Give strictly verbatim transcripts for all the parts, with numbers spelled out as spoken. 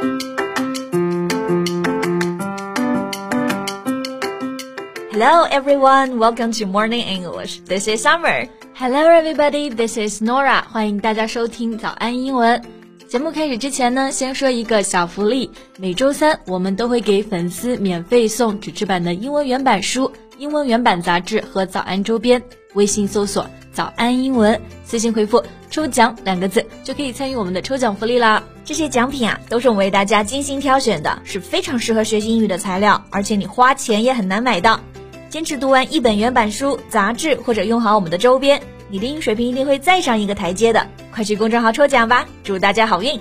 Hello everyone, welcome to Morning English. This is Summer. Hello everybody, this is Nora. 欢迎大家收听早安英文。节目开始之前呢，先说一个小福利。每周三我们都会给粉丝免费送纸质版的英文原版书、英文原版杂志和早安周边。微信搜索早安英文，私信回复抽奖两个字就可以参与我们的抽奖福利啦。 这些奖品啊，都是我们为大家精心挑选的，是非常适合学习英语的材料，而且你花钱也很难买到。坚持读完一本原版书、杂志或者用好我们的周边，你的英语水平一定会再上一个台阶的。快去公众号抽奖吧，祝大家好运。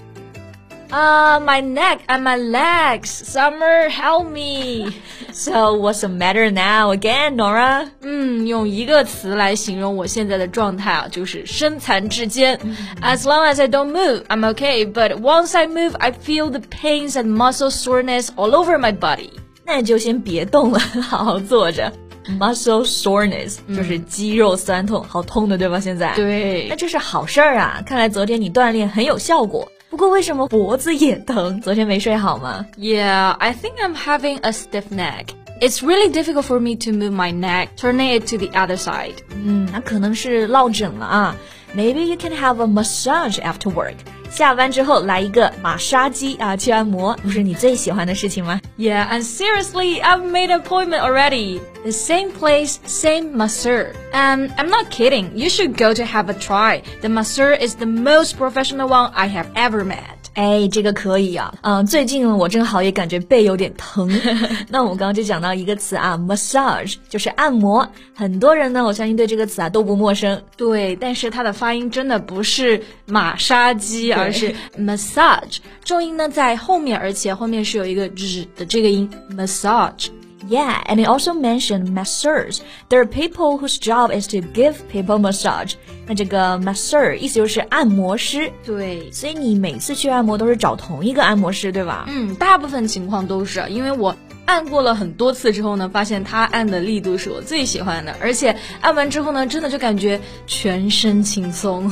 Ah, uh, my neck and my legs. Summer, help me. So what's the matter now again, Nora? 嗯，用一个词来形容我现在的状态啊，就是身残志坚。As long as I don't move, I'm okay. But once I move, I feel the pains and muscle soreness all over my body. 那你就先别动了，好好坐着。Muscle soreness、嗯、就是肌肉酸痛，好痛的对吧？现在对， 那这是好事儿啊！看来昨天你锻炼很有效果。不过为什么脖子也疼？昨天没睡好吗？ Yeah, I think I'm having a stiff neck. It's really difficult for me to move my neck, turning it to the other side. 嗯，那可能是落枕了啊。Maybe you can have a massage after work.下班之后来一个马杀鸡啊，去按摩，不是你最喜欢的事情吗？ Yeah, and seriously, I've made an appointment already. The same place, same masseur. And I'm not kidding. You should go to have a try. The masseur is the most professional one I have ever met. 哎，这个可以啊，嗯，最近我正好也感觉背有点疼。那我们刚刚就讲到一个词啊 ，massage 就是按摩。很多人呢，我相信对这个词啊都不陌生。 对，但是它的发音真的不是马杀鸡，而是 massage。重音呢在后面，而且后面是有一个 z 的这个音 massage。Yeah, and it also mentioned masseurs. There are people whose job is to give people massage. 那这个 masseur 意思就是按摩师。 对， 所以你每次去按摩都是找同一个按摩师，对吧？ 嗯，大部分情况都是，因为我按过了很多次之后呢，发现他按的力度是我最喜欢的，而且按完之后呢，真的就感觉全身轻松。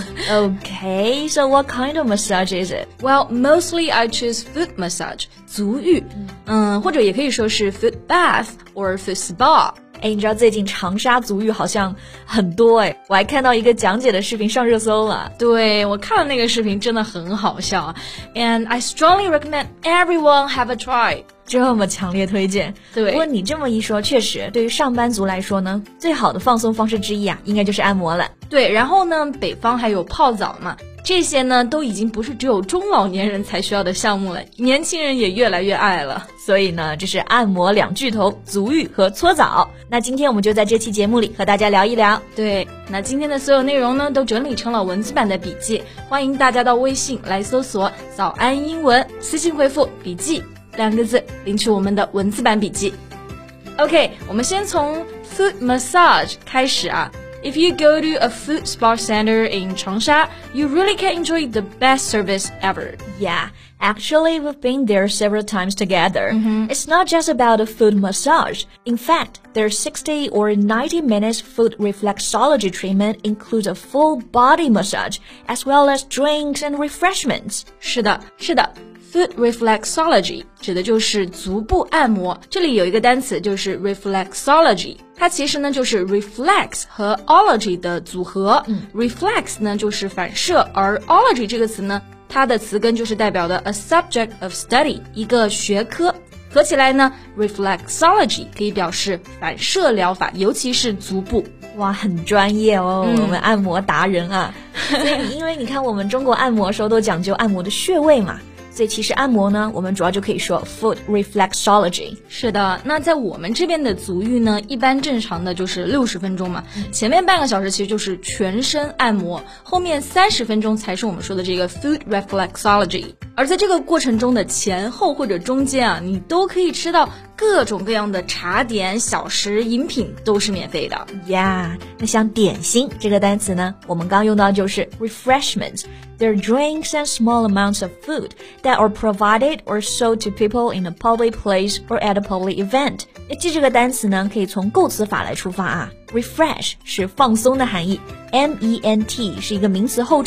Okay, so what kind of massage is it? Well, mostly I choose foot massage, 足浴，嗯，或者也可以说是 foot bath or foot spa。 哎，你知道最近长沙足浴好像很多哎，我还看到一个讲解的视频上热搜了。 对，我看了那个视频，真的很好笑。And I strongly recommend everyone have a try. 这么强烈推荐。 对， 不过你这么一说，确实对于上班族来说呢，最好的放松方式之一啊，应该就是按摩了。 对，然后呢，北方还有泡澡嘛。这些呢都已经不是只有中老年人才需要的项目了，年轻人也越来越爱了。 所以呢，这是按摩两巨头，足浴和搓澡。那今天我们就在这期节目里和大家聊一聊。 对，那今天的所有内容呢都整理成了文字版的笔记，欢迎大家到微信来搜索早安英文，私信回复笔记两个字领取我们的文字版笔记。OK， 我们先从 foot massage 开始啊。If you go to a foot spa center in Changsha, you really can enjoy the best service ever. Yeah, actually we've been there several times together. Mm-hmm. It's not just about a foot massage. In fact, their sixty or ninety minutes foot reflexology treatment includes a full body massage, as well as drinks and refreshments. 是的，是的。Foot reflexology 指的就是足部按摩，这里有一个单词就是 reflexology， 它其实呢就是 reflex 和 ology 的组合、嗯、reflex 呢就是反射，而 ology 这个词呢，它的词根就是代表的 a subject of study， 一个学科，合起来呢 reflexology 可以表示反射疗法，尤其是足部。 哇，很专业哦、嗯、我们按摩达人啊。所以因为你看我们中国按摩的时候都讲究按摩的穴位嘛，所以其实按摩呢，我们主要就可以说 foot reflexology。 是的，那在我们这边的足浴呢，一般正常的就是六十分钟嘛、嗯、前面半个小时其实就是全身按摩，后面三十分钟才是我们说的这个 foot reflexology。 而在这个过程中的前后或者中间啊，你都可以吃到各种各样的茶点、小食、饮品，都是免费的。 Yeah， 那像点心这个单词呢，我们刚用到就是 refreshments。They're drinks and small amounts of food that are provided or sold to people in a public place or at a public event. 记这个单词呢，可以从构词法来出发啊。Refresh 是放松的含义 ，M E N T 是一个名词后缀，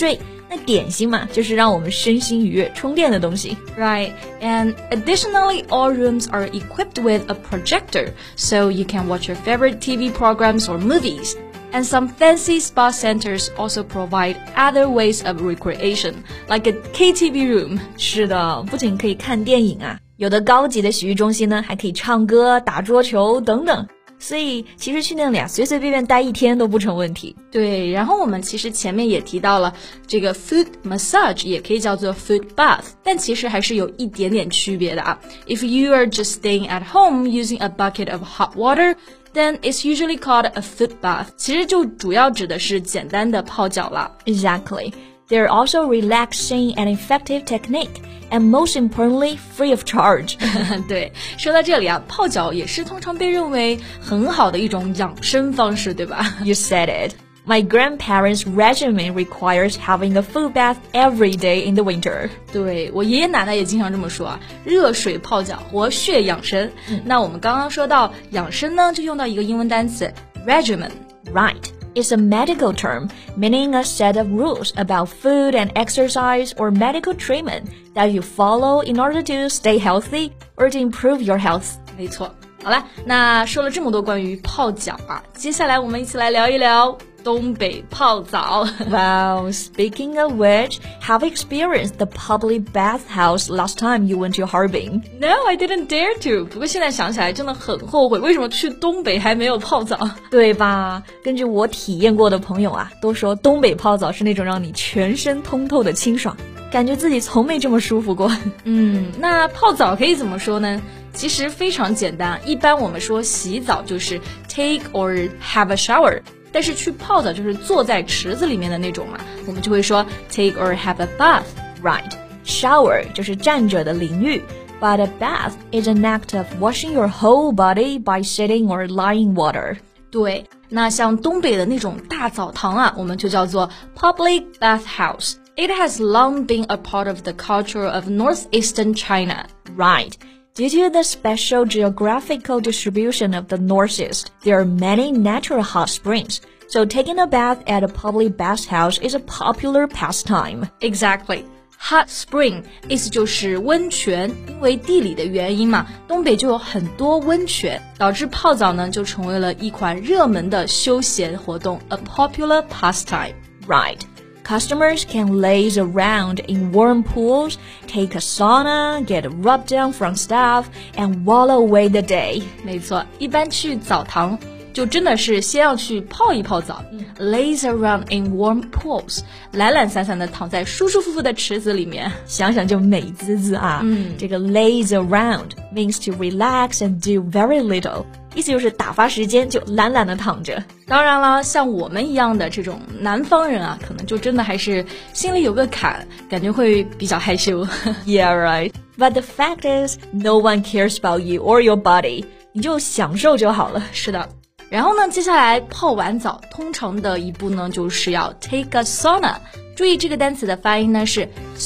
那点心嘛，就是让我们身心愉悦、充电的东西。 Right, and additionally, all rooms are equipped with a projector, so you can watch your favorite T V programs or movies.And some fancy spa centers also provide other ways of recreation, like a K T V room. 是的，不仅可以看电影啊，有的高级的洗浴中心呢，还可以唱歌、打桌球等等。所以其实去那里啊，随随便便待一天都不成问题。 对，然后我们其实前面也提到了，这个 foot massage 也可以叫做 foot bath， 但其实还是有一点点区别的啊。If you are just staying at home using a bucket of hot water,then it's usually called a foot bath. 其实就主要指的是简单的泡脚了。 Exactly. They're also relaxing and effective technique, and most importantly, free of charge. 对，说到这里啊，泡脚也是通常被认为很好的一种养生方式，对吧？ You said it.My grandparents' regimen requires having a foot bath every day in the winter. 对，我爷爷奶奶也经常这么说啊，热水泡脚，活血养生。嗯、那我们刚刚说到养生呢，就用到一个英文单词 regimen. Right. It's a medical term, meaning a set of rules about food and exercise or medical treatment that you follow in order to stay healthy or to improve your health. 没错。好了，那说了这么多关于泡脚啊，接下来我们一起来聊一聊东北泡澡。 Wow, speaking of which, have you experienced the public bathhouse last time you went to Harbin? No, I didn't dare to. 不过现在想起来真的很后悔，为什么去东北还没有泡澡？ 对吧？根据我体验过的朋友啊，都说东北泡澡是那种让你全身通透的清爽，感觉自己从没这么舒服过。 嗯，那泡澡可以怎么说呢？其实非常简单，一般我们说洗澡就是 take or have a shower， 但是去泡澡就是坐在池子里面的那种嘛，我们就会说 take or have a bath. Right. Shower 就是站着的淋浴 but a bath is an act of washing your whole body by sitting or lying water. 对，那像东北的那种大澡堂啊，我们就叫做 public bathhouse.It has long been a part of the culture of northeastern China. Right.Due to the special geographical distribution of the Northeast, there are many natural hot springs. So taking a bath at a public bathhouse is a popular pastime. Exactly. Hot spring 意思就是温泉，因为地理的原因嘛，东北就有很多温泉，导致泡澡呢就成为了一款热门的休闲活动 a popular pastime. Right.Customers can laze around in warm pools, take a sauna, get a rub down from staff, and wallow away the day. 没错，一般去澡堂就真的是先要去泡一泡澡、嗯、laze around in warm pools， 懒懒散散的躺在舒舒服服的池子里面， 想想就美滋滋啊。嗯，这个 laze around means to relax and do very little， 意思就是打发时间，就懒懒的躺着。 当然了，像我们一样的这种南方人啊，可能就真的还是心里有个坎，感觉会比较害羞。 Yeah, right. But the fact is, no one cares about you or your body. 你就享受就好了。 是的。然后呢，接下来泡完澡，通常的一步呢，就是要 take a sauna。注意这个单词的发音呢是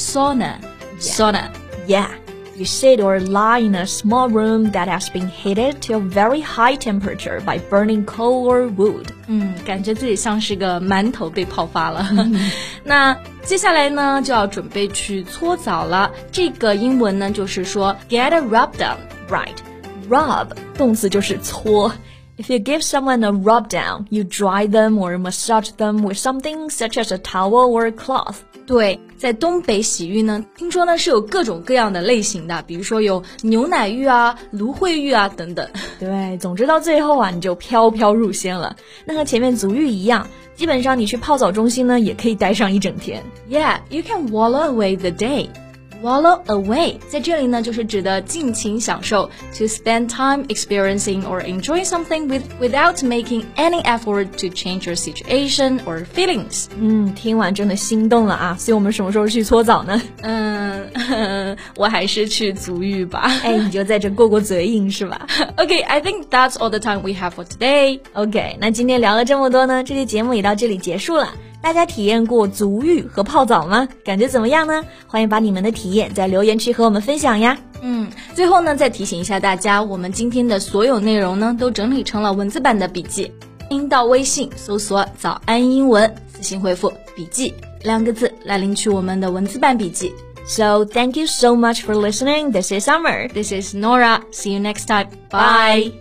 sauna。sauna. Yeah.You sit or lie in a small room that has been heated to a very high temperature by burning coal or wood. 嗯，感觉自己像是个馒头被泡发了。那接下来呢，就要准备去搓澡了。这个英文呢，就是说 get a rub down. Right. Rub 动词就是搓。If you give someone a rub down, you dry them or massage them with something such as a towel or a cloth. 对，在东北洗浴呢，听说呢是有各种各样的类型的，比如说有牛奶浴啊、芦荟浴啊等等。 对，总之到最后啊，你就飘飘入仙了。那和前面足浴一样，基本上你去泡澡中心呢，也可以待上一整天。 Yeah, you can wallow away the day.Wallow away 在这里呢就是指的尽情享受 to spend time experiencing or enjoying something with, without making any effort to change your situation or feelings. 嗯，听完真的心动了啊，所以我们什么时候去搓澡呢？ 嗯，我还是去足浴吧。 哎，你就在这过过嘴瘾是吧？ Okay, I think that's all the time we have for today. Okay, 那今天聊了这么多呢，这期节目也到这里结束了。大家体验过足浴和泡澡吗？感觉怎么样呢？欢迎把你们的体验在留言区和我们分享呀。 嗯，最后呢，再提醒一下大家，我们今天的所有内容呢，都整理成了文字版的笔记。您到微信搜索早安英文，私信回复笔记两个字来领取我们的文字版笔记。 So thank you so much for listening. This is Summer. This is Nora. See you next time. Bye.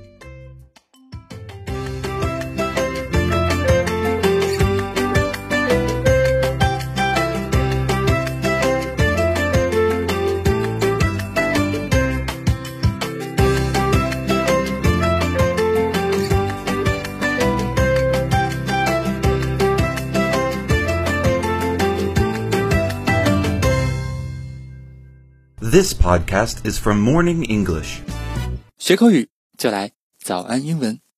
This podcast is from Morning English. 学口语就来早安英文。